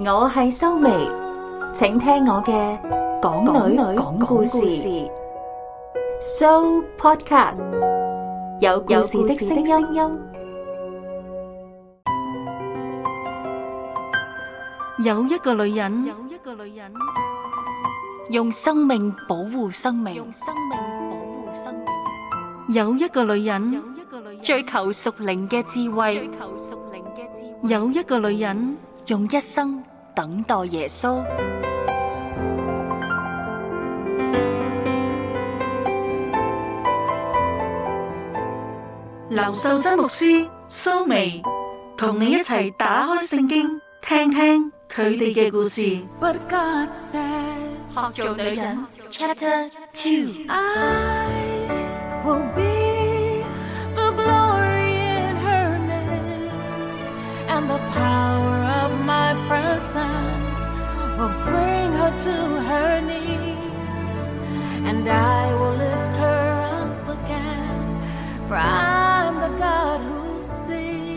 我係蘇眉，請聽我嘅港女講故事So Podcast， 有故事的聲音。 有一個女人用生命保護生命，有一個女人追求屬靈嘅智慧，有一個女人用一生等待耶穌。劉秀珍牧師蘇眉同你一齊打開聖經，聽聽佢哋嘅故事。 學做女人 Chapter 2。 I will be the glory in her midst, and the power of my presence will bring her to her knees, and I will lift her up again, for I'm the God who sees.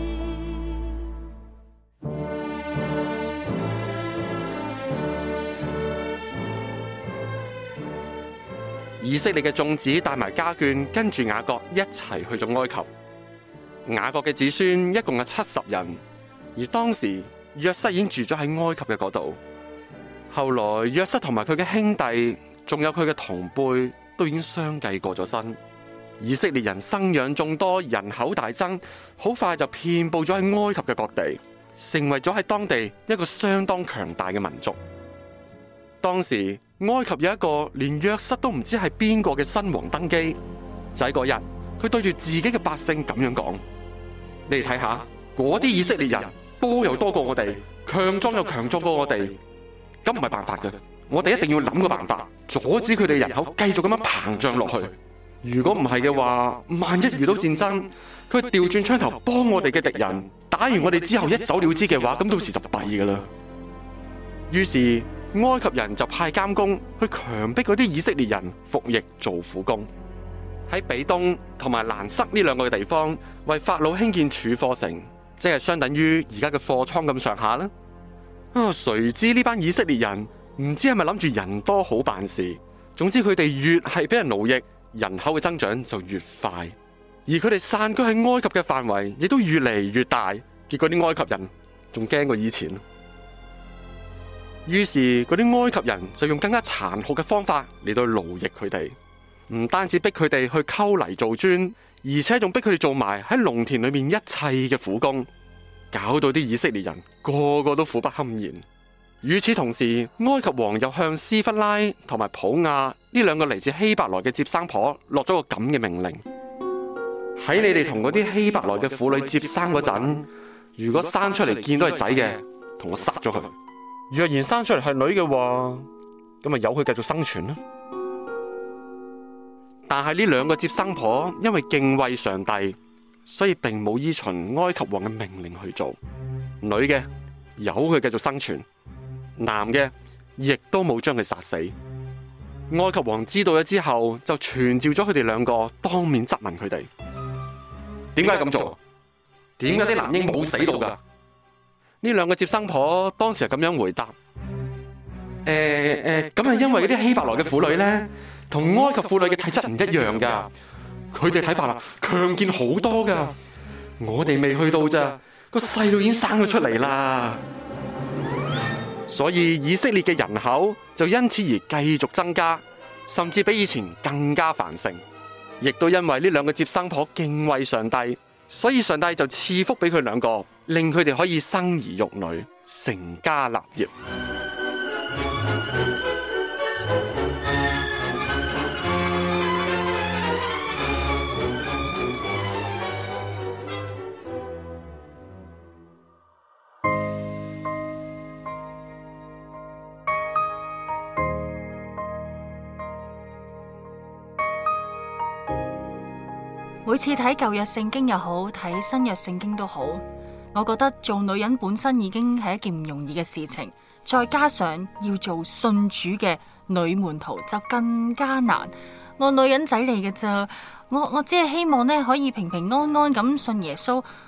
以色列嘅眾子帶埋家眷，跟住雅各一齊去咗埃及。雅各嘅子孫一共有70人，而當時約瑟已經住咗喺埃及嘅嗰度。後來約瑟同埋佢嘅兄弟，仲有佢嘅同輩，都已經相繼過咗身。以色列人生養眾多，人口大增，好快就遍佈咗喺埃及嘅各地，成為咗喺當地一個相當強大嘅民族。當時埃及有一個連約瑟都唔知係邊個嘅新王登基，就喺嗰日，佢對住自己嘅百姓咁樣講：你哋睇下，嗰啲以色列人多又多過我哋，強壯又強壯過我哋，咁唔係辦法嘅，我哋一定要諗個辦法，阻止佢哋人口繼續咁樣膨脹落去。如果唔係嘅話，萬一遇到戰爭，佢調轉槍頭幫我哋嘅敵人，打完我哋之後一走了之嘅話，咁到時就弊噶啦。於是埃及人就派監工去強迫嗰啲以色列人服役做苦工，喺比東同埋蘭塞呢兩個嘅地方為法老興建儲貨城，即係相等於而家嘅貨倉咁上下啦。誰知呢班以色列人唔知係咪諗住人多好辦事，總之佢哋越係俾人奴役，人口嘅增長就越快，而佢哋散居喺埃及嘅範圍亦都越嚟越大，結果啲埃及人仲驚過以前。於是嗰啲埃及人就用更加殘酷嘅方法嚟到奴役佢哋，唔單止逼佢哋去溝泥做磚，而且仲逼佢哋做埋喺農田裏面一切嘅苦工，搞到啲以色列人個個都苦不堪言。與此同時，埃及王又向斯弗拉同埋普亞呢兩個嚟自希伯來嘅接生婆落咗個咁嘅命令：喺你哋同嗰啲希伯來嘅婦女接生嗰陣，如果生出嚟見到係仔嘅，同我殺咗佢；若然生出嚟係女嘅話，咁咪由佢繼續生存啦。但係呢兩個接生婆因為敬畏上帝，所以並冇依循埃及王嘅命令去做。女嘅由佢繼續生存，男嘅亦都冇將佢殺死。埃及王知道咗之後，就傳召咗佢哋兩個，當面質問佢哋：點解咁做？點解啲男嬰冇死到噶？呢兩個接生婆當時係咁樣回答：咁係因為嗰啲希伯來嘅婦女咧，同埃及婦女嘅體質唔一樣噶，佢哋睇法啦強健好多噶，我哋未去到咋，個細路已經生咗出嚟啦。所以以色列嘅人口就因此而繼續增加，甚至比以前更加繁盛。亦都因為呢兩個接生婆敬畏上帝，所以上帝就賜福俾佢兩個，令佢哋可以生兒育女，成家立業。 每次睇舊約聖經又好，睇新約聖經都好，我覺得做女人本身已經係一件唔容易嘅事情，再加上要做信主嘅女門徒就更加難。我女人仔嚟嘅咋，我只係希望咧可以平平安安咁信耶穌，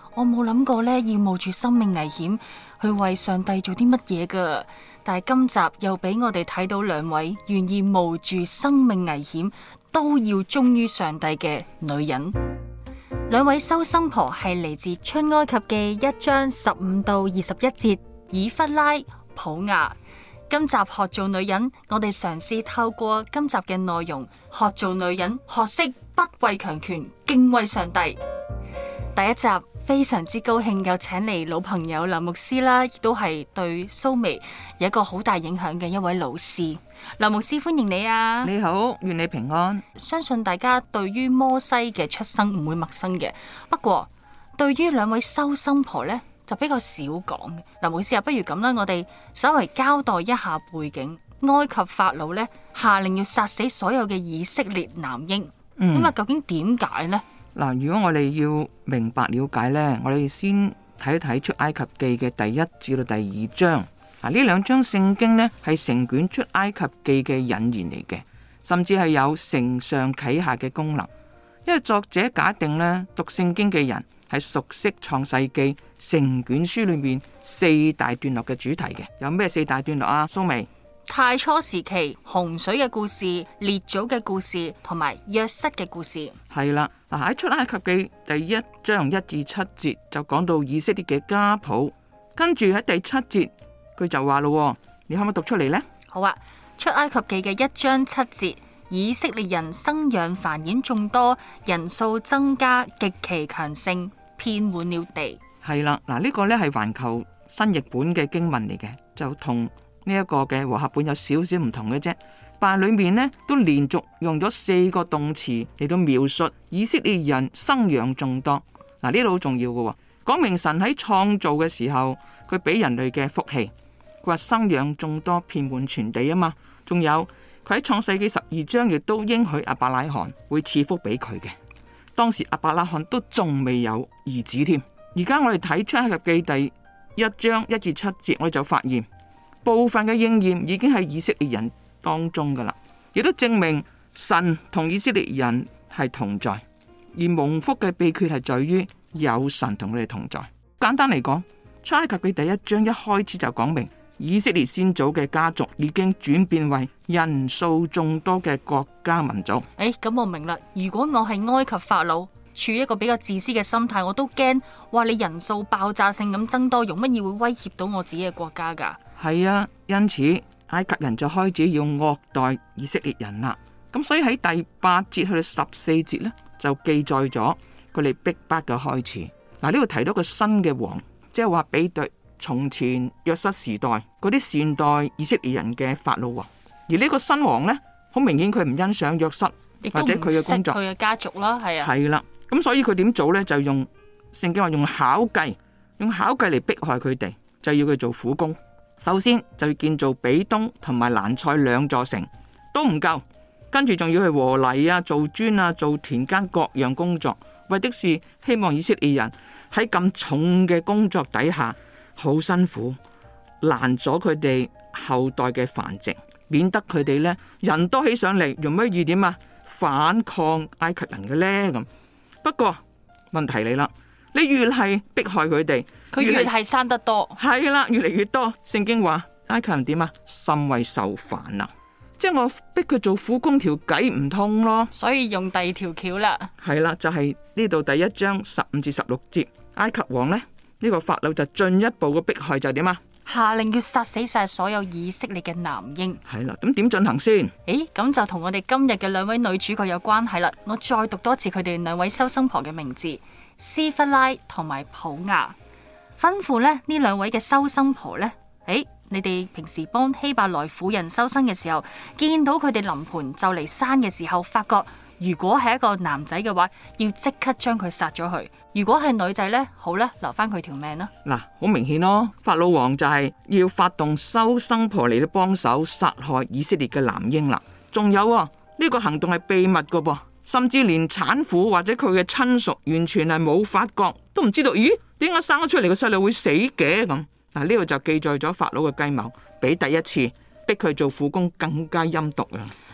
我冇諗過呢要冒住生命危險去為上帝做啲乜嘢噶。但係今集又俾我哋睇到兩位願意冒住生命危險都要忠於上帝嘅女人。兩位收生婆係嚟自出埃及記1章15到21節，以弗拉、普雅。今集學做女人，我哋嘗試透過今集嘅內容學做女人，學識不畏強權，敬畏上帝。第一集非常之高興又請嚟老朋友林牧師啦，亦都係對蘇眉有一個好大影響嘅一位老師。林牧師歡迎你啊！ 你好，願你平安。 相信大家對於摩西嘅出生唔會陌生嘅，不過對於兩位收生婆呢，就比較少講嘅。林牧師啊，不如咁啦，我哋稍微交代一下背景。埃及法老呢，下令要殺死所有嘅以色列男嬰，咁啊究竟點解呢？ 嗱，如果我哋要明白了解呢，我哋先睇一睇出埃及記嘅第1至到第2章。呢兩章聖經呢係成卷出埃及記嘅引言嚟嘅，甚至係有承上啟下嘅功能。因為作者假定呢，讀聖經嘅人係熟悉創世記成卷書裏面4大段落嘅主題嘅。有咩4大段落啊？蘇眉？ 太初時期洪水嘅故事、列祖嘅故事同埋約瑟嘅故事。係啦，嗱，喺出埃及記第1章1至7節就講到以色列嘅家譜，跟住喺第7節佢就話咯，你可唔可以讀出嚟呢？ 好啊，出埃及記嘅1章7節，以色列人生養繁衍眾多，人數增加，極其強盛，遍滿了地。係啦，嗱，呢個呢係環球新譯本嘅經文嚟嘅，就同呢一個嘅和合本有少少唔同嘅啫，但係裏面呢都連續用咗4個動詞嚟到描述以色列人生養眾多。嗱，呢度好重要嘅，講明神喺創造嘅時候，佢俾人類嘅福氣，佢話生養眾多，遍滿全地啊嘛。仲有佢喺創世記12章亦都應許亞伯拉罕會賜福俾佢嘅。當時亞伯拉罕都仲未有兒子添。而家我哋睇出埃及記第1章1至7節，我哋就發現部分嘅應驗已經喺以色列人當中噶啦，亦都證明神同以色列人係同在，而蒙福嘅秘訣係在於有神同佢哋同在。簡單嚟講，出埃及記第1章一開始就講明以色列先祖嘅家族已經轉變為人數眾多嘅國家民族。 咁我明啦。如果我係埃及法老，處於一個比較自私嘅心態，我都驚話你人數爆炸性咁增多，用乜嘢會威脅到我自己嘅國家噶？係啊，因此埃及人就開始要惡待以色列人啦。咁所以喺第8節去到14節呢，就記載咗佢哋逼迫嘅開始。嗱，呢度提到個新嘅王，即係話比對從前約瑟時代嗰啲善待以色列人嘅法老王。而呢個新王呢，好明顯佢唔欣賞約瑟或者佢嘅工作， 佢嘅家族啦，係啊， 係啦。咁所以佢點做呢？就用聖經話用巧計嚟迫害佢哋，就要佢做苦工。首先就要建造比東同埋蘭塞2座城，都唔夠，跟住仲要去和泥啊、做磚啊、做田間各樣工作，為的是希望以色列人喺咁重嘅工作底下好辛苦，攔咗佢哋後代嘅繁殖，免得佢哋呢人多起上嚟，容乜易點啊反抗埃及人嘅呢？咁不過問題嚟啦，你越係迫害佢哋， 佢越係生得多， 係啦，越嚟越多。聖經話埃及人點啊？甚為受煩啊！即係我逼佢做苦工，條計唔通咯， 所以用第二條橋啦。 係啦，就係呢度第1章15至16節，埃及王呢，呢個法老就進一步嘅迫害就點啊？ 下令要殺死晒所有以色列嘅男嬰。 係啦，咁點進行先？ 咁就同我哋今日嘅兩位女主角有關係啦。我再讀多次佢哋兩位收生婆嘅名字：斯弗拉同埋普雅。吩咐呢兩位嘅收生婆呢，你哋平時幫希伯來婦人收生嘅時候，見到佢哋臨盆就嚟生嘅時候，發覺如果係一個男仔嘅話，要即刻將佢殺咗佢；如果係女仔呢，好啦，留翻佢條命啦。 嗱，好明顯咯，法老王就係要發動收生婆嚟到幫手殺害以色列嘅男嬰啦。仲有呢個行動係秘密噶噃，甚至連產婦或者佢嘅親屬完全係冇發覺，都唔知道，咦，點解生咗出嚟個細路會死嘅咁？嗱，呢度就記載咗法老嘅計謀，比第一次逼佢做苦工更加陰毒啊！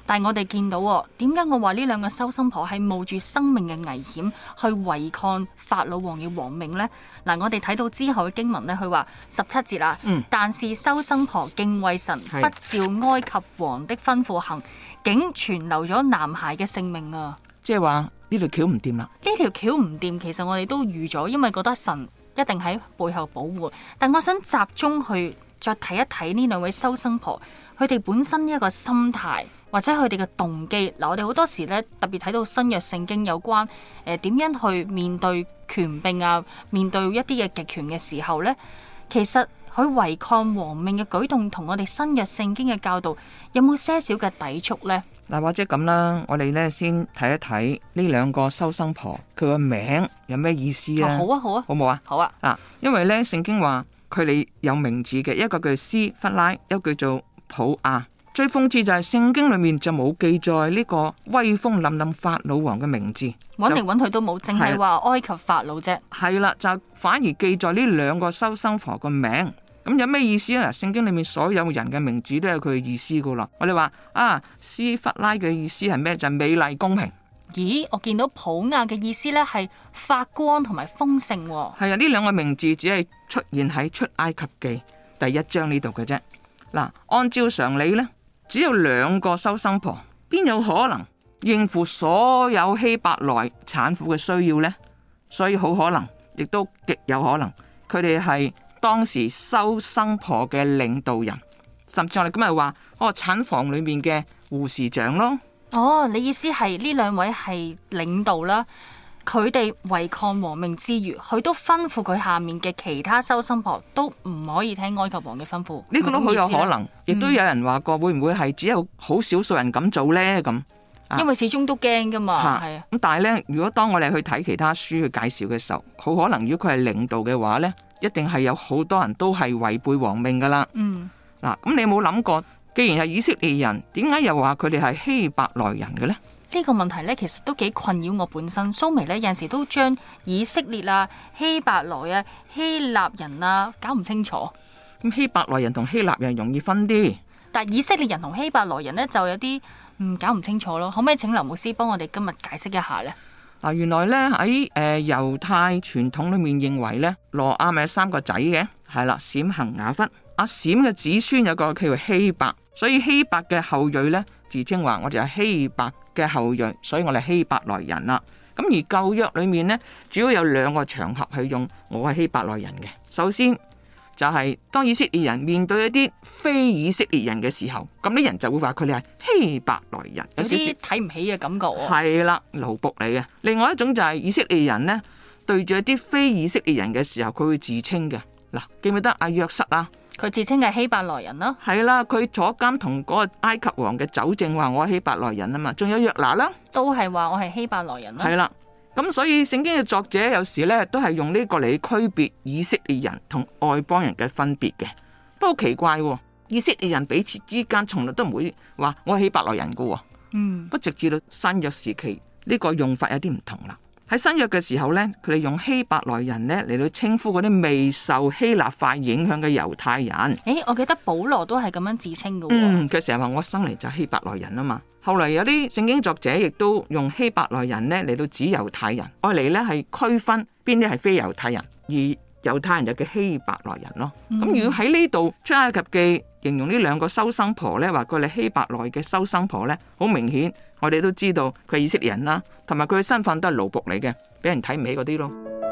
但係我哋見到點解我話呢兩個收生婆係冒住生命嘅危險去違抗法老王嘅王命呢？嗱，我哋睇到之後嘅經文呢，佢話17節啦，但是收生婆敬畏神，不照埃及王的吩咐行，竟存留咗男孩嘅性命啊！ 即係話呢條橋唔掂啦。 呢條橋唔掂，其實我哋都預咗，因為覺得神一定喺背後保護。但我想集中去再睇一睇呢兩位收生婆，佢哋本身一個心態或者佢哋嘅動機。嗱，我哋好多時咧特別睇到新約聖經有關點樣去面對權柄啊，面對一啲嘅極權嘅時候呢，其實佢違抗王命嘅舉動同我哋新約聖經嘅教導有冇些少嘅抵觸呢？ 嗱，或者咁啦，我哋咧先睇一睇呢兩個收生婆佢個名有咩意思啊？ 好啊，好啊， 好冇啊？ 好啊！ 嗱，因為咧聖經話佢哋有名字嘅，一個叫斯弗拉，一個叫做普亞。最諷刺就係聖經裏面就冇記載呢個威風凜凜法老王嘅名字， 揾嚟揾去都冇，淨係話埃及法老啫。係啦，就反而記載呢兩個收生婆個名。咁有咩意思啊？聖經裏面所有人嘅名字都有佢嘅意思噶啦。我哋話斯弗拉嘅意思係咩？就係美麗公平。 咦，我見到普亞嘅意思呢係發光同埋豐盛。 係啊，呢兩個名字只係出現喺出埃及記第1章呢度嘅啫。嗱，按照常理呢，只有兩個收生婆，邊有可能應付所有希伯來產婦嘅需要呢？所以好可能，亦都極有可能，佢哋係當時收生婆嘅領導人，甚至我哋今日話產房裏面嘅護士長咯。 你意思係呢兩位係領導啦，佢哋違抗王命之餘，佢都吩咐佢下面嘅其他收生婆都唔可以聽埃及王嘅吩咐。 呢個都好有可能，亦都有人話過，會唔會係只有好少數人咁做呢？咁因為始終都驚噶嘛。 係咁但係呢，如果當我哋去睇其他書去介紹嘅時候，好可能如果佢係領導嘅話呢，一定係有好多人都係違背王命噶啦。嗱，咁你有冇諗過，既然係以色列人，點解又話佢哋係希伯來人嘅呢？ 呢個問題呢，其實都幾困擾我本身。蘇眉呢，有陣時都將以色列啊、希伯來啊、希臘人啊搞唔清楚。 咁希伯來人同希臘人容易分啲， 但以色列人同希伯來人呢，就有啲搞唔清楚咯。可唔可以請林牧師幫我哋今日解釋一下呢？ 嗱，原來呢，喺猶太傳統裏面認為呢，羅亞咪有3個仔嘅，係啦，閃、行、雅弗。阿閃嘅子孫有個叫做希伯，所以希伯嘅後裔呢，自稱話我哋係希伯嘅後裔，所以我哋希伯來人啦。咁而舊約裏面呢，主要有2個場合係用我係希伯來人嘅。首先就係當以色列人面對一啲非以色列人嘅時候，咁啲人就會話佢哋係希伯來人， 有啲睇唔起嘅感覺。 係啦，奴僕嚟嘅。另外一種就係以色列人呢，對住一啲非以色列人嘅時候，佢會自稱嘅。嗱，記唔記得阿約瑟啊？ 佢自稱係希伯來人咯。 係啦，佢坐監同嗰個埃及王嘅酒政話我係希伯來人啊嘛。仲有約拿啦，都係話我係希伯來人咯。 係啦，咁所以聖經嘅作者有時呢都係用呢個嚟區別以色列人同外邦人嘅分別嘅。不過奇怪，以色列人彼此之間從來都唔會話我係希伯來人噶。不直至到新約時期呢個用法有啲唔同啦。喺新約嘅時候呢，佢哋用希伯來人呢嚟到稱呼嗰啲未受希臘化影響嘅猶太人。 我記得保羅都係咁樣自稱嘅。 佢成日話我生嚟就係希伯來人啊嘛。後嚟有啲聖經作者亦都用希伯來人呢嚟到指猶太人，愛嚟呢係區分邊啲係非猶太人，而猶太人就叫希伯來人咯。咁如果喺呢度出埃及記形容呢2個收生婆呢，話佢哋希伯來嘅收生婆呢，好明顯我哋都知道佢係以色列人啦，同埋佢嘅身份都係奴僕嚟嘅，俾人睇唔起嗰啲咯。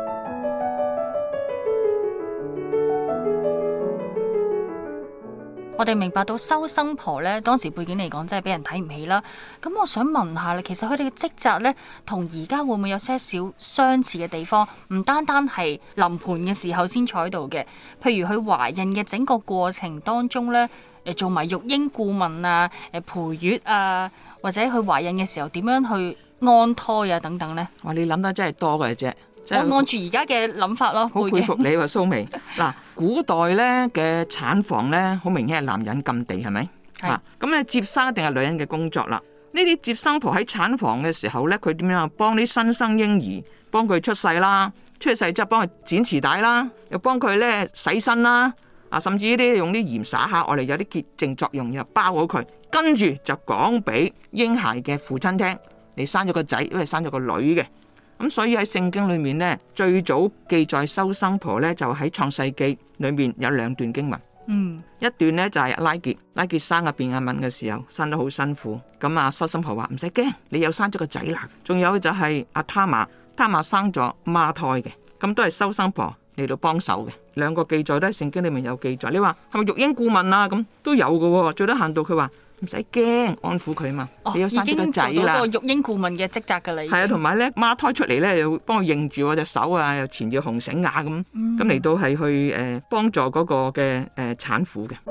我哋明白到收生婆呢，當時背景嚟講真係俾人睇唔起啦。咁我想問下咧，其實佢哋嘅職責呢，同而家會唔會有些少相似嘅地方？唔單單係臨盆嘅時候先坐喺度嘅，譬如佢懷孕嘅整個過程當中呢，做埋育嬰顧問啊、陪月啊，或者佢懷孕嘅時候點樣去安胎啊等等呢？ 哇！你諗得真係多嘅啫。 我按住而家嘅諗法咯， 好佩服你喎，蘇眉。嗱，古代咧嘅產房咧，好明顯係男人禁地，係咪？係。咁咧接生一定係女人嘅工作啦。呢啲接生婆喺產房嘅時候咧，佢點樣幫啲新生嬰兒幫佢出世啦？出世之後幫佢剪臍帶啦，又幫佢咧洗身啦。 甚至呢啲用啲鹽灑下，我哋有啲潔淨作用，又包好佢，跟住就講俾嬰孩嘅父親聽，你生咗個仔，因為生咗個女嘅。咁所以喺聖經裏面呢，最早記載收生婆呢，就喺創世記裏面有2段經文。一段呢就係拉結生阿便雅憫嘅時候，生得好辛苦，咁收生婆話唔使驚，你又生咗個仔啦。仲有就係阿他瑪生咗孖胎嘅，咁都係收生婆嚟到幫手嘅。2個記載都喺聖經裏面有記載。你話係咪育嬰顧問啊？咁都有嘅，最低限度佢話唔使驚，安撫佢嘛。你有生咗個仔啦， 已經做到個育嬰顧問嘅職責噶啦。 係啊，同埋咧孖胎出嚟咧，又幫佢認住我隻手啊，又纏住紅繩啊，咁嚟到係去幫助嗰個嘅產婦嘅。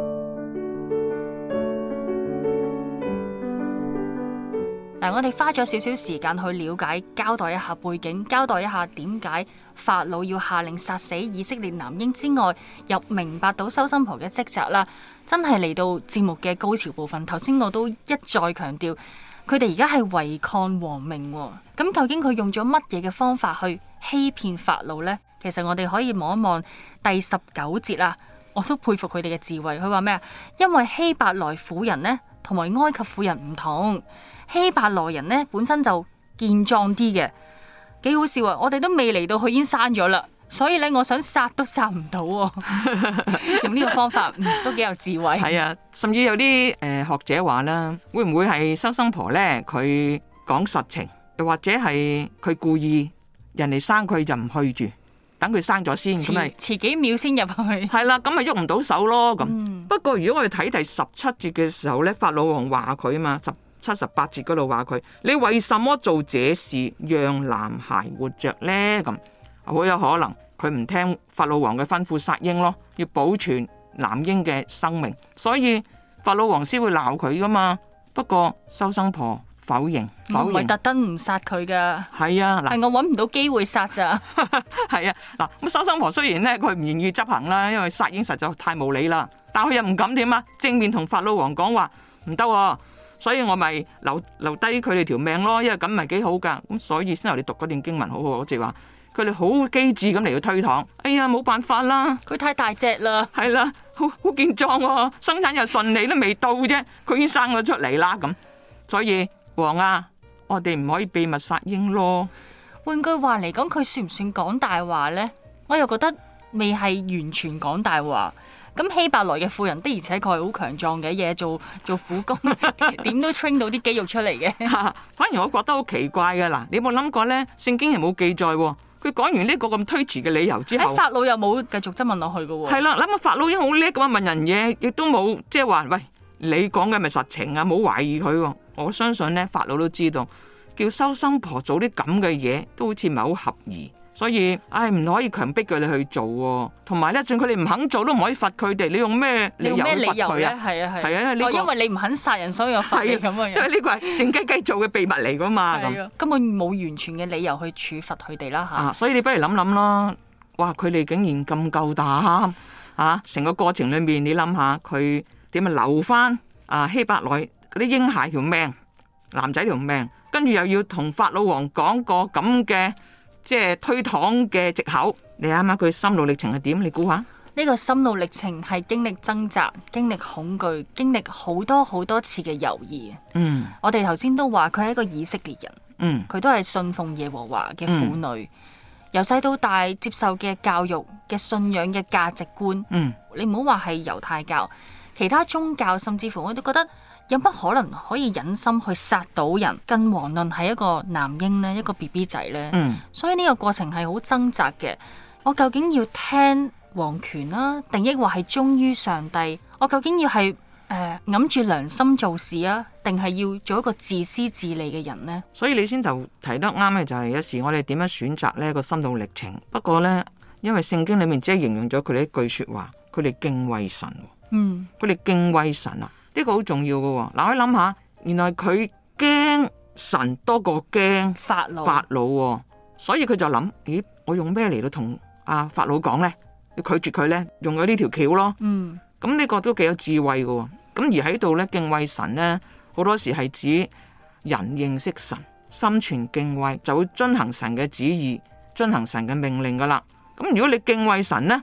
嗱，我哋花咗少少時間去了解，交代一下背景，交代一下點解法老要下令殺死以色列男嬰之外，又明白到收生婆嘅職責啦。真係嚟到節目嘅高潮部分，頭先我都一再強調，佢哋而家係違抗王命。咁究竟佢用咗乜嘢嘅方法去欺騙法老呢？其實我哋可以望一望第19節啦，我都佩服佢哋嘅智慧。佢話咩啊？因為希伯來婦人呢，同埋埃及婦人唔同。希伯來人呢本身就健壯啲嘅，幾好笑啊！我哋都未嚟到，佢已經生咗啦，所以咧我想殺都殺唔到。用呢個方法都幾有智慧。 係啊，甚至有啲學者話啦，會唔會係收生婆咧？佢講實情，又或者係佢故意人哋生佢就唔去住，等佢生咗先，咁咪遲幾秒先入去。 係啦，咁咪喐唔到手咯。咁不過如果我哋睇第17節嘅時候咧，法老王話佢啊嘛，17、18節嗰度話佢，你為什麼做這事，讓男孩活着呢？咁好有可能佢唔聽法老王嘅吩咐殺嬰咯，要保存男嬰嘅生命，所以法老王先會鬧佢噶嘛。不過收生婆否認， 我唔係特登唔殺佢噶。 係啊， 係我搵唔到機會殺咋。 係啊，嗱，咁收生婆雖然咧佢唔願意執行啦，因為殺嬰實在太無理啦，但佢又唔敢點啊，正面同法老王講話唔得，所以我咪留低佢哋條命咯，因為咁咪幾好噶。咁所以先由你讀嗰段經文好好，我就話佢哋好機智咁嚟到推搪。哎呀，冇辦法啦， 佢太大隻啦。 係啦，好健壯，生產又順利，都未到啫，佢已經生咗出嚟啦。咁所以王啊，我哋唔可以秘密殺嬰咯。 換句話嚟講，佢算唔算講大話呢？我又覺得未係完全講大話。咁希伯來嘅婦人的而且確係好強壯嘅，嘢做苦工，點都 train 到啲肌肉出嚟嘅。 反而我覺得好奇怪嘅，嗱，你有冇諗過呢？聖經係冇記載，佢講完呢個咁推辭嘅理由之後， 法老又冇繼續質問落去嘅。 係啦，諗下法老已經好叻咁問人嘢，亦都冇即係話，喂，你講嘅咪實情啊，冇懷疑佢。我相信呢，法老都知道叫收生婆做啲咁嘅嘢，都好似唔係好合宜。所以，唔可以強迫佢哋去做，同埋咧，就算佢哋唔肯做，都唔可以罰佢哋。你用咩理由罰佢啊？係啊， 因為你唔肯殺人，所以我罰你咁嘅樣。 因為呢個係靜雞雞做嘅秘密嚟噶嘛， 根本冇完全嘅理由去處罰佢哋啦吓。 所以你不如諗諗咯。哇，佢哋竟然咁夠膽啊！成個過程裏面，你諗下佢點樣留翻希伯來嗰啲嬰孩條命，男仔條命，跟住又要同法老王講個咁嘅。即係推搪嘅藉口，你啱啱佢心路歷程係點？你估下？ 呢個心路歷程係經歷掙扎、經歷恐懼、經歷好多好多次嘅猶豫。我哋頭先都話佢係一個以色列人，佢都係信奉耶和華嘅婦女，由細到大接受嘅教育嘅信仰嘅價值觀。你唔好話係猶太教，其他宗教甚至乎我都覺得。有乜可能可以忍心去殺到人？更遑論係一個男嬰呢，一個 BB 仔呢。所以呢個過程係好掙扎嘅。我究竟要聽王權啦，定抑或係忠於上帝？我究竟要係揞住良心做事啊，定係要做一個自私自利嘅人呢？ 所以你先頭提得啱嘅就係有時我哋點樣選擇呢個心路歷程。不過呢，因為聖經裏面只係形容咗佢哋一句說話，佢哋敬畏神。佢哋敬畏神啊！呢個好重要嘅，嗱，我諗下，原來佢驚神多過驚法老，所以佢就諗，咦，我用咩嚟到同法老講呢？要拒絕佢呢？用咗呢條橋咯。咁呢個都幾有智慧嘅。咁而喺度呢，敬畏神呢，好多時係指人認識神，心存敬畏，就會遵行神嘅旨意，遵行神嘅命令噶啦。咁如果你敬畏神呢，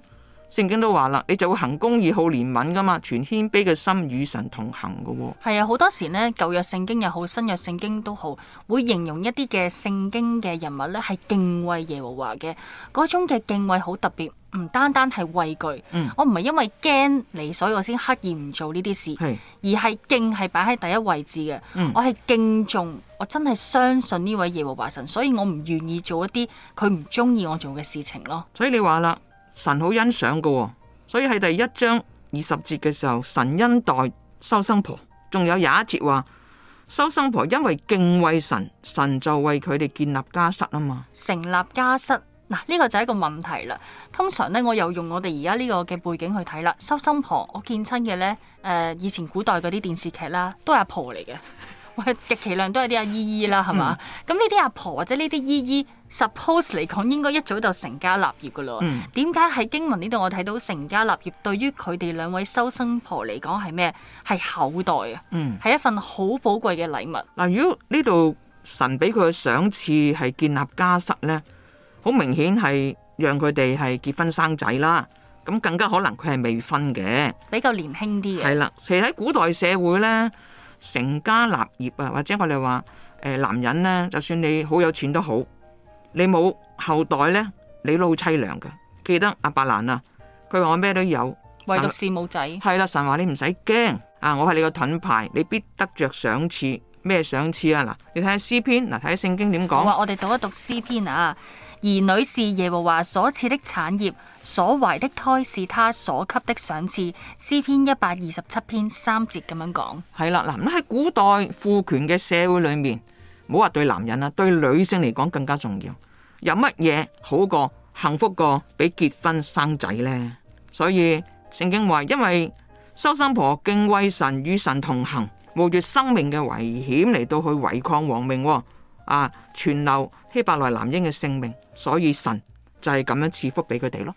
聖經都話啦，你就會行公義、好憐憫噶嘛，全謙卑嘅心與神同行噶。 係啊，好多時呢，舊約聖經又好，新約聖經都好，會形容一啲嘅聖經嘅人物呢係敬畏耶和華嘅，嗰種嘅敬畏好特別，唔單單係畏懼。我唔係因為驚你，所以我先刻意唔做呢啲事，而係敬係擺喺第一位置嘅。我係敬重，我真係相信呢位耶和華神，所以我唔願意做一啲佢唔中意我做嘅事情咯。 所以你話啦，神好欣賞噶，所以喺第1章20節嘅時候，神恩待收生婆，仲有廿一節話收生婆因為敬畏神，神就為佢哋建立家室啊嘛。 成立家室嗱，呢個就係一個問題啦。通常呢，我又用我哋而家呢個嘅背景去睇啦。收生婆我見親嘅呢，以前古代嗰啲電視劇啦，都係阿婆嚟嘅。極其量都係啲阿姨姨啦，係嘛？咁呢啲阿婆或者呢啲姨姨 ，suppose 嚟講應該一早就成家立業噶咯。點解喺經文呢度我睇到成家立業對於佢哋兩位收生婆嚟講係咩？係後代啊，係一份好寶貴嘅禮物。 嗱，如果呢度神俾佢嘅賞賜係建立家室呢，好明顯係讓佢哋係結婚生仔啦。咁更加可能佢係未婚嘅， 比較年輕啲嘅。係啦，其實喺古代社會呢，成家立業啊，或者我哋話男人呢，就算你好有錢都好，你冇後代呢，你都好淒涼嘅。記得阿伯蘭啊，佢話我咩都有， 唯獨是冇仔。 係啦，神話你唔使驚啊，我係你個盾牌，你必得着賞賜。咩賞賜啊？嗱，你睇下詩篇，嗱，睇下聖經點講。 我哋讀一讀詩篇啊。兒女是耶和華所賜的產業，所懷的胎是他所給的賞賜。詩篇127篇3節咁樣講。係啦，嗱，咁喺古代父權嘅社會裏面，唔好話對男人啊，對女性嚟講更加重要。有乜嘢好過幸福過比結婚生仔呢？所以聖經話，因為收生婆敬畏神，與神同行，冒住生命嘅危險嚟到去違抗王命，存留希伯來男嬰嘅性命，所以神就係咁樣賜福俾佢哋咯。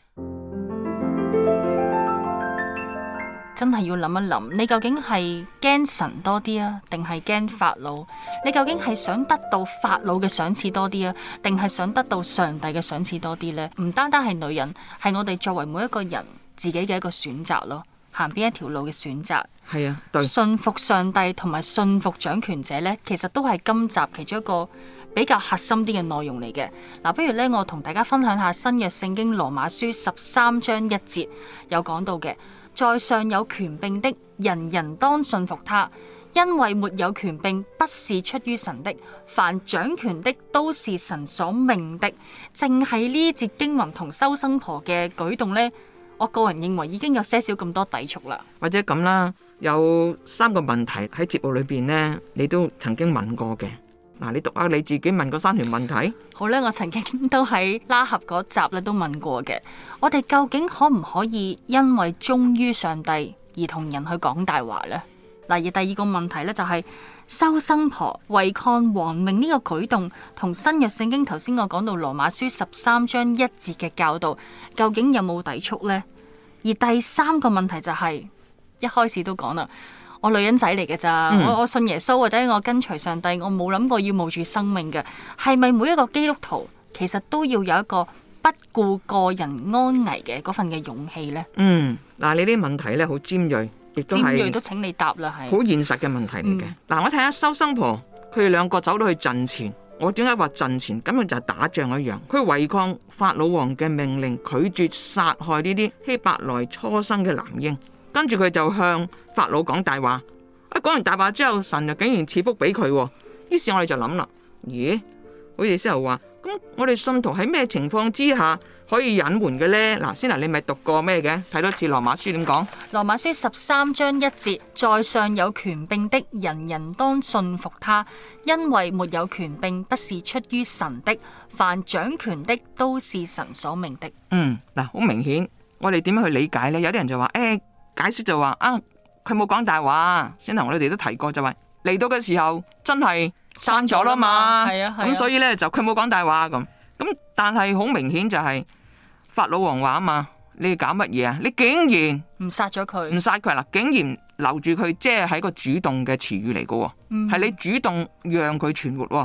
真係要諗一諗，你究竟係驚神多啲啊，定係驚法老？你究竟係想得到法老嘅賞賜多啲啊，定係想得到上帝嘅賞賜多啲呢？唔單單係女人，係我哋作為每一個人自己嘅一個選擇咯。行邊一條路嘅選擇， 係啊，對， 信服上帝同埋信服掌權者呢，其實都係今集其中一個比較核心啲嘅內容嚟嘅。嗱，不如呢，我同大家分享下新約聖經羅馬書13章1節有講到嘅，在上有權柄的，人人當信服他，因為沒有權柄不是出於神的，凡掌權的都是神所命的。淨係呢節經文同收生婆嘅舉動呢，我個人認為已經有些少咁多抵觸啦。 或者咁啦，有3個問題喺節目裏邊呢，你都曾經問過嘅。嗱，你讀下你自己問過3條問題。好咧，我曾經都喺拉合嗰集咧都問過嘅。我哋究竟可唔可以因為忠於上帝而同人去講大話呢？嗱，而第2個問題呢，就係收生婆違抗王命呢個舉動，同新約聖經頭先我講到羅馬書13章1節嘅教導，究竟有冇抵觸呢？而第3個問題就係一開始都講啦，我女人仔嚟嘅咋，我信耶穌或者我跟隨上帝，我冇諗過要冒住生命嘅。係咪每一個基督徒其實都要有一個不顧個人安危嘅嗰份嘅勇氣呢？ 嗱，你啲問題咧好尖銳，亦都係尖銳都請你答啦，係好現實嘅問題嚟嘅。嗱，我睇下收生婆，佢哋2個走到去陣前。我點解話陣前？咁樣就係打仗一樣，佢違抗法老王嘅命令，拒絕殺害呢啲希伯來初生嘅男嬰，跟住佢就向法老講大話。講完大話之後，神就竟然賜福俾佢。於是我哋就諗啦，咦？好似先頭話，咁我哋信徒喺咩情況之下可以隱瞞嘅呢？嗱，先嗱，你咪讀過咩嘅？睇多次羅馬書點講？ 羅馬書13章1節，在上有權柄的，人人當信服他，因為沒有權柄不是出於神的，凡掌權的都是神所命的。 嗱，好明顯，我哋點樣去理解呢？有啲人就話，解釋就話佢冇講大話。先頭我哋都提過，就話嚟到嘅時候真係生咗啦嘛，咁所以呢，就佢冇講大話咁。但係好明顯就係法老王話啊嘛，你搞乜嘢啊？你竟然唔殺咗佢， 唔殺佢啦，竟然留住佢，即係一個主動嘅詞語嚟嘅，係你主動讓佢存活。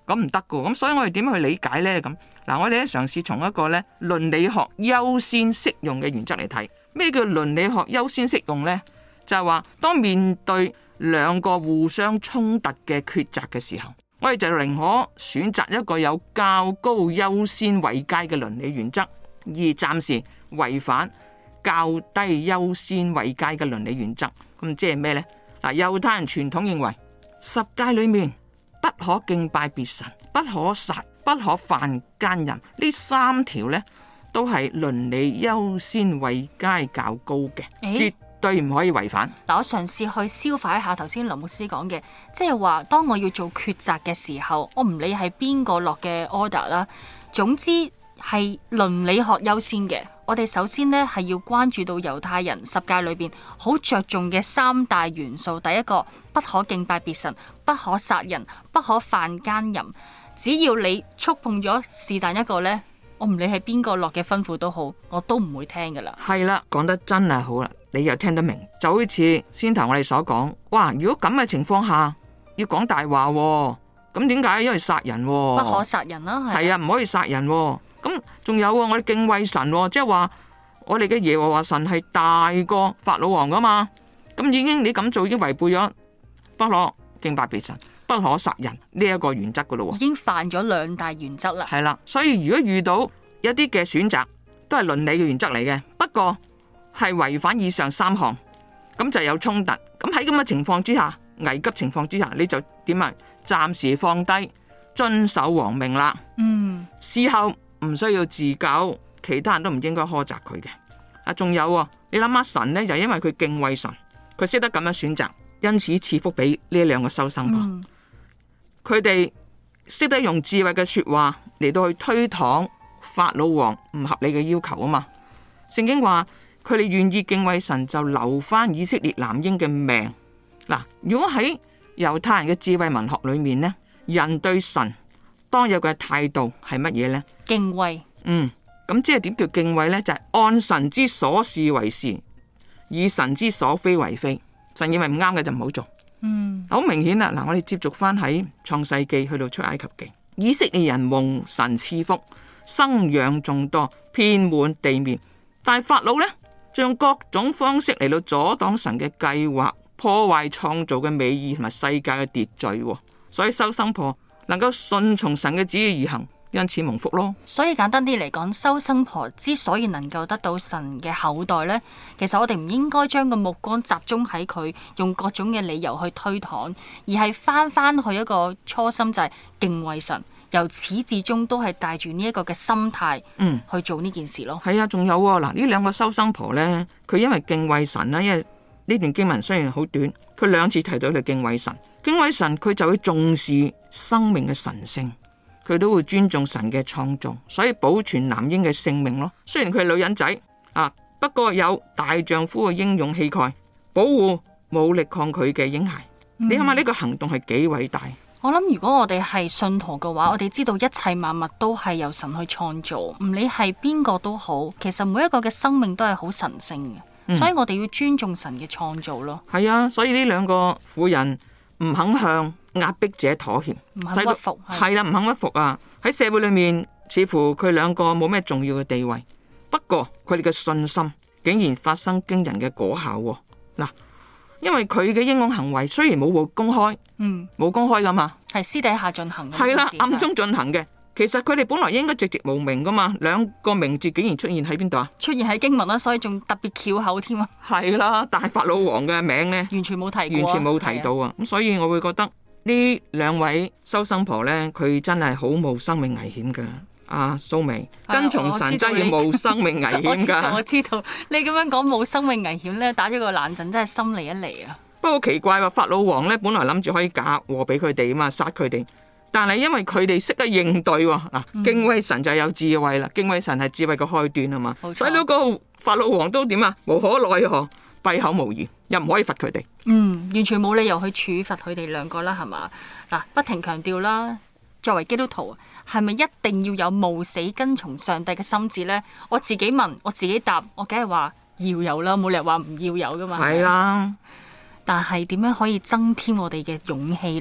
咁唔得噶。咁所以我哋點樣去理解呢？咁嗱，我哋咧嘗試從一個咧倫理學優先適用嘅原則嚟睇，咩叫倫理學優先適用呢？就係話當面對兩個互相衝突嘅抉擇嘅時候，我哋就寧可選擇一個有較高優先位階嘅倫理原則，而暫時違反較低優先位階嘅倫理原則。咁即係咩呢？嗱，猶太人傳統認為十誡裏面不可敬拜別神、不可殺、不可犯奸淫，呢三條呢都係倫理優先位階較高嘅，絕對唔可以違反。 嗱，我嘗試去消化一下頭先林牧師講嘅，即係話當我要做抉擇嘅時候，我唔理係邊個落嘅 order 啦，總之係倫理學優先嘅。我哋首先呢係要關注到猶太人十誡裏邊好着重嘅三大元素。第一個，不可敬拜別神，不可殺人，不可犯奸淫。只要你觸碰咗是但一個呢，我唔理係邊個落嘅吩咐都好，我都唔會聽噶啦。 係啦，講得真係好啦，你又聽得明，就好似先頭我哋所講，哇！如果咁嘅情況下要講大話，咁點解？因為殺人， 不可殺人啦， 係啊，唔可以殺人。咁仲有我哋敬畏神，即係話我哋嘅耶和華神係大過法老王噶嘛。咁已經你咁做已經違背咗不可敬拜別神、不可殺人呢一個原則噶咯。 已經犯咗兩大原則啦。 係啦，所以如果遇到一啲嘅選擇都係倫理嘅原則嚟嘅，不過係違反以上三項，咁就有衝突。咁喺咁嘅情況之下，危急情況之下，你就點啊？暫時放低，遵守王命啦。事後唔需要自救，其他人都唔應該苛責佢嘅。啊，仲有你諗下神呢，就因為佢敬畏神，佢識得咁樣選擇，因此賜福俾呢兩個收生婆。佢哋識得用智慧嘅說話嚟到去推搪法老王唔合理嘅要求啊嘛。聖經話佢哋願意敬畏神，就留翻以色列男嬰嘅命。嗱，如果喺猶太人嘅智慧文學裏面呢，人對神當有嘅態度係乜嘢呢？ 敬畏。 咁即係點叫敬畏呢？就係按神之所是為是，以神之所非為非。神認為唔啱嘅就唔好做。好明顯啦。嗱，我哋接續翻喺創世記去到出埃及記，以色列人蒙神賜福，生養眾多，遍滿地面。但係法老呢，就用各種方式嚟到阻擋神嘅計劃，破壞創造嘅美意同埋世界嘅秩序。所以收生婆能夠順從神嘅旨意而行，因此蒙福咯。 所以簡單啲嚟講，收生婆之所以能夠得到神嘅後代呢，其實我哋唔應該將個目光集中喺佢用各種嘅理由去推搪，而係翻去一個初心，就係敬畏神，由始至終都係帶住呢一個嘅心態去做呢件事咯。 係啊，仲有嗱，呢兩個收生婆呢，佢因為敬畏神啦，因為呢段經文雖然好短，佢兩次提到佢敬畏神。敬畏神，佢就會重視生命嘅神聖，佢都會尊重神嘅創造，所以保存男嬰嘅性命咯。雖然佢係女人仔不過有大丈夫嘅英勇氣概，保護冇力抗拒嘅嬰孩。你諗下呢個行動係幾偉大？ 我諗如果我哋係信徒嘅話，我哋知道一切萬物都係由神去創造，唔理係邊個都好，其實每一個嘅生命都係好神聖嘅，所以我哋要尊重神嘅創造咯。 係啊，所以呢兩個婦人唔肯向壓迫者妥協， 唔肯屈服， 係啦，唔肯屈服啊！喺社會裏面，似乎佢兩個冇咩重要嘅地位，不過佢哋嘅信心竟然發生驚人嘅果效。嗱，因為佢嘅英勇行為雖然冇公開，冇公開噶嘛， 係私底下進行嘅， 係啦，暗中進行嘅。其實佢哋本來應該寂寂無名噶嘛，兩個名字竟然出現喺邊度啊？ 出現喺經文啦，所以仲特別翹口添啊！ 係啦，但係法老王嘅名呢， 完全冇提過， 完全冇提到啊！咁所以我會覺得呢兩位收生婆呢，佢真係好冒生命危險噶。蘇眉，跟從神真係要冒生命危險噶。 我知道你咁樣講冇生命危險呢，打咗個冷震，真係心離一離啊！ 不過奇怪喎，法老王呢，本來諗住可以嫁禍俾佢哋啊嘛，殺佢哋。但係因為佢哋識得應對喎，敬畏神就有智慧啦，敬畏神係智慧嘅開端啊嘛，所以嗰個法老王都點啊，無可奈何，閉口無言，又唔可以罰佢哋。 完全冇理由去處罰佢哋兩個啦，係嘛？嗱，不停強調啦，作為基督徒，係咪一定要有冒死跟從上帝嘅心志呢？我自己問，我自己答，我梗係話要有啦，冇理由話唔要有噶嘛。 係啦， 但係點樣可以增添我哋嘅勇氣呢？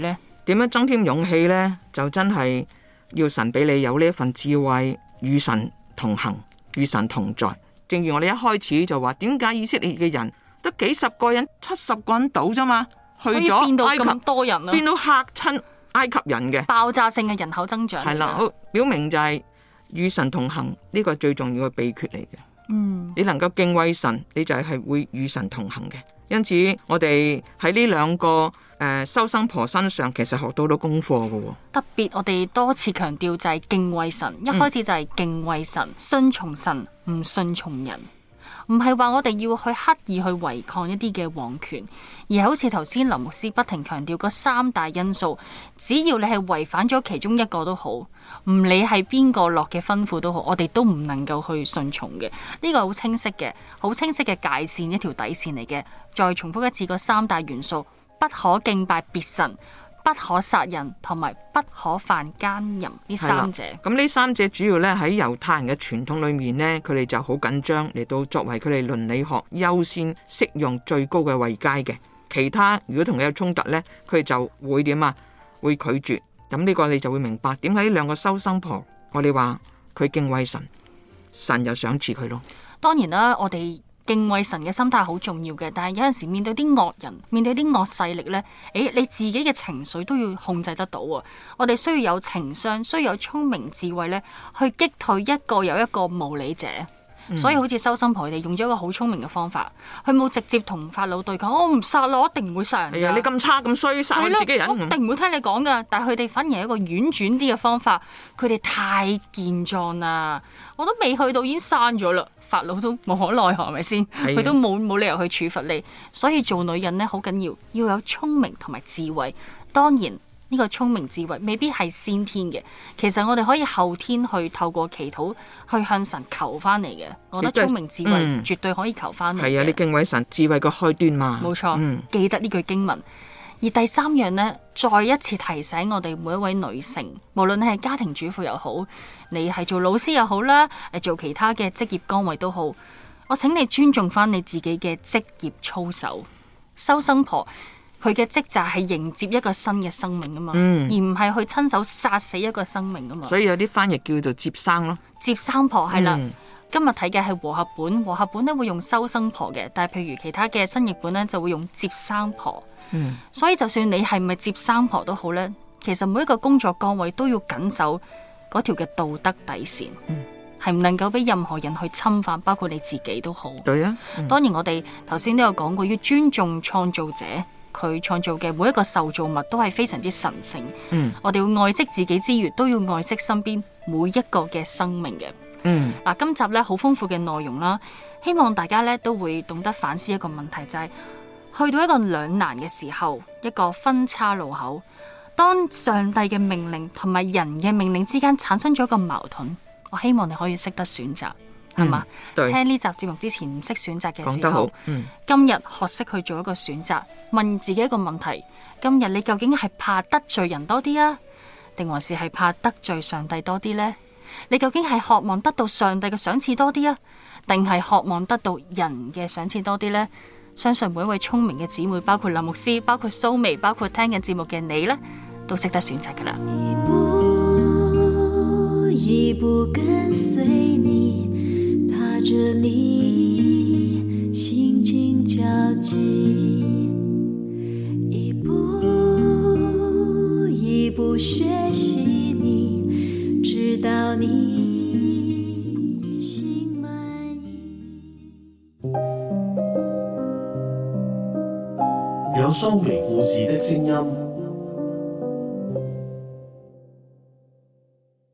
點樣增添勇氣呢？就真係要神俾你有呢一份智慧，與神同行，與神同在。正如我哋一開始就話，點解以色列嘅人得幾十個人、70個人到啫嘛？去可以變到咗埃及， 咁多人啊， 變到嚇親埃及人嘅。 爆炸性嘅人口增長。 係啦，表明就係與神同行呢個係最重要嘅秘訣嚟嘅。你能夠敬畏神，你就係會與神同行嘅。因此，我哋喺呢兩個收生婆身上，其實學到好多功課嘅。 特別我哋多次強調就係敬畏神，一開始就係敬畏神，順從神，唔順從人。唔係話我哋要去刻意去違抗一啲嘅王權，而係好似頭先林牧師不停強調嗰3大因素，只要你係違反咗其中一個都好，唔理係邊個落嘅吩咐都好，我哋都唔能夠去順從嘅。呢個好清晰嘅，好清晰嘅界線，一條底線嚟嘅。再重複一次嗰3大元素：不可敬拜別神，不可殺人，同埋不可犯奸淫。呢3者， 咁呢3者主要咧喺猶太人嘅傳統裏面呢，佢哋就好緊張嚟到作為佢哋倫理學優先適用最高嘅位階嘅。其他如果同你有衝突呢，佢哋就會點啊？會拒絕。咁呢個你就會明白點解呢兩個收生婆，我哋話佢敬畏神，神又賞賜佢咯。 當然啦，我哋敬畏神嘅心態好重要嘅，但係有陣時面對啲惡人，面對啲惡勢力呢，你自己嘅情緒都要控制得到啊！我哋需要有情商，需要有聰明智慧呢，去擊退一個又一個無理者。所以好似收生婆，佢哋用咗一個好聰明嘅方法，佢冇直接同法老對抗，我唔殺啦，我一定唔會殺人。 係啊，你咁差咁衰，殺我自己人， 我一定唔會聽你講噶。但係佢哋反而係一個婉轉啲嘅方法，佢哋太健壯啦，我都未去到已經刪咗啦。法老都無可奈何，係咪先？佢都冇理由去處罰你。所以做女人呢，好緊要有聰明同埋智慧。當然呢個聰明智慧未必係先天嘅，其實我哋可以後天去透過祈禱去向神求翻嚟嘅。我覺得聰明智慧絕對可以求翻嚟。 係啊，你敬畏神，智慧個開端嘛。 冇錯，記得呢句經文。而第3樣呢，再一次提醒我哋每一位女性，無論你係家庭主婦又好，你係做老師又好啦，做其他嘅職業崗位都好，我請你尊重翻你自己嘅職業操守。收生婆佢嘅職責係迎接一個新嘅生命啊嘛，而唔係去親手殺死一個生命啊嘛。 所以有啲翻譯叫做接生咯。 接生婆係啦。今日睇嘅係和合本，和合本咧會用收生婆嘅，但係譬如其他嘅新譯本咧就會用接生婆。所以就算你係咪接生婆都好呢，其實每一個工作崗位都要緊守嗰條嘅道德底線，係唔能夠俾任何人去侵犯，包括你自己都好。 對啊， 當然我哋頭先都有講過，要尊重創造者，佢創造嘅每一個受造物都係非常之神聖。我哋要愛惜自己之餘，都要愛惜身邊每一個嘅生命嘅。今集呢好豐富嘅內容啦，希望大家呢都會懂得反思一個問題，就係去到一個兩難嘅時候，一個分岔路口，當上帝嘅命令同埋人嘅命令之間產生咗一個矛盾，我希望你可以識得選擇，係嘛？聽呢集節目之前唔識選擇嘅時候，今日學識去做一個選擇，問自己一個問題：今日你究竟係怕得罪人多啲啊，定還是係怕得罪上帝多啲呢？你究竟係渴望得到上帝嘅賞賜多啲啊，定係渴望得到人嘅賞賜多啲呢？相信每一位聰明嘅姊妹，包括林牧師，包括蘇眉，包括聽緊節目嘅你呢，都識得選擇噶啦。 一步一步跟隨你，踏着你心經交集，一步一步學習你，直到你心滿意。 有蘇眉故事的聲音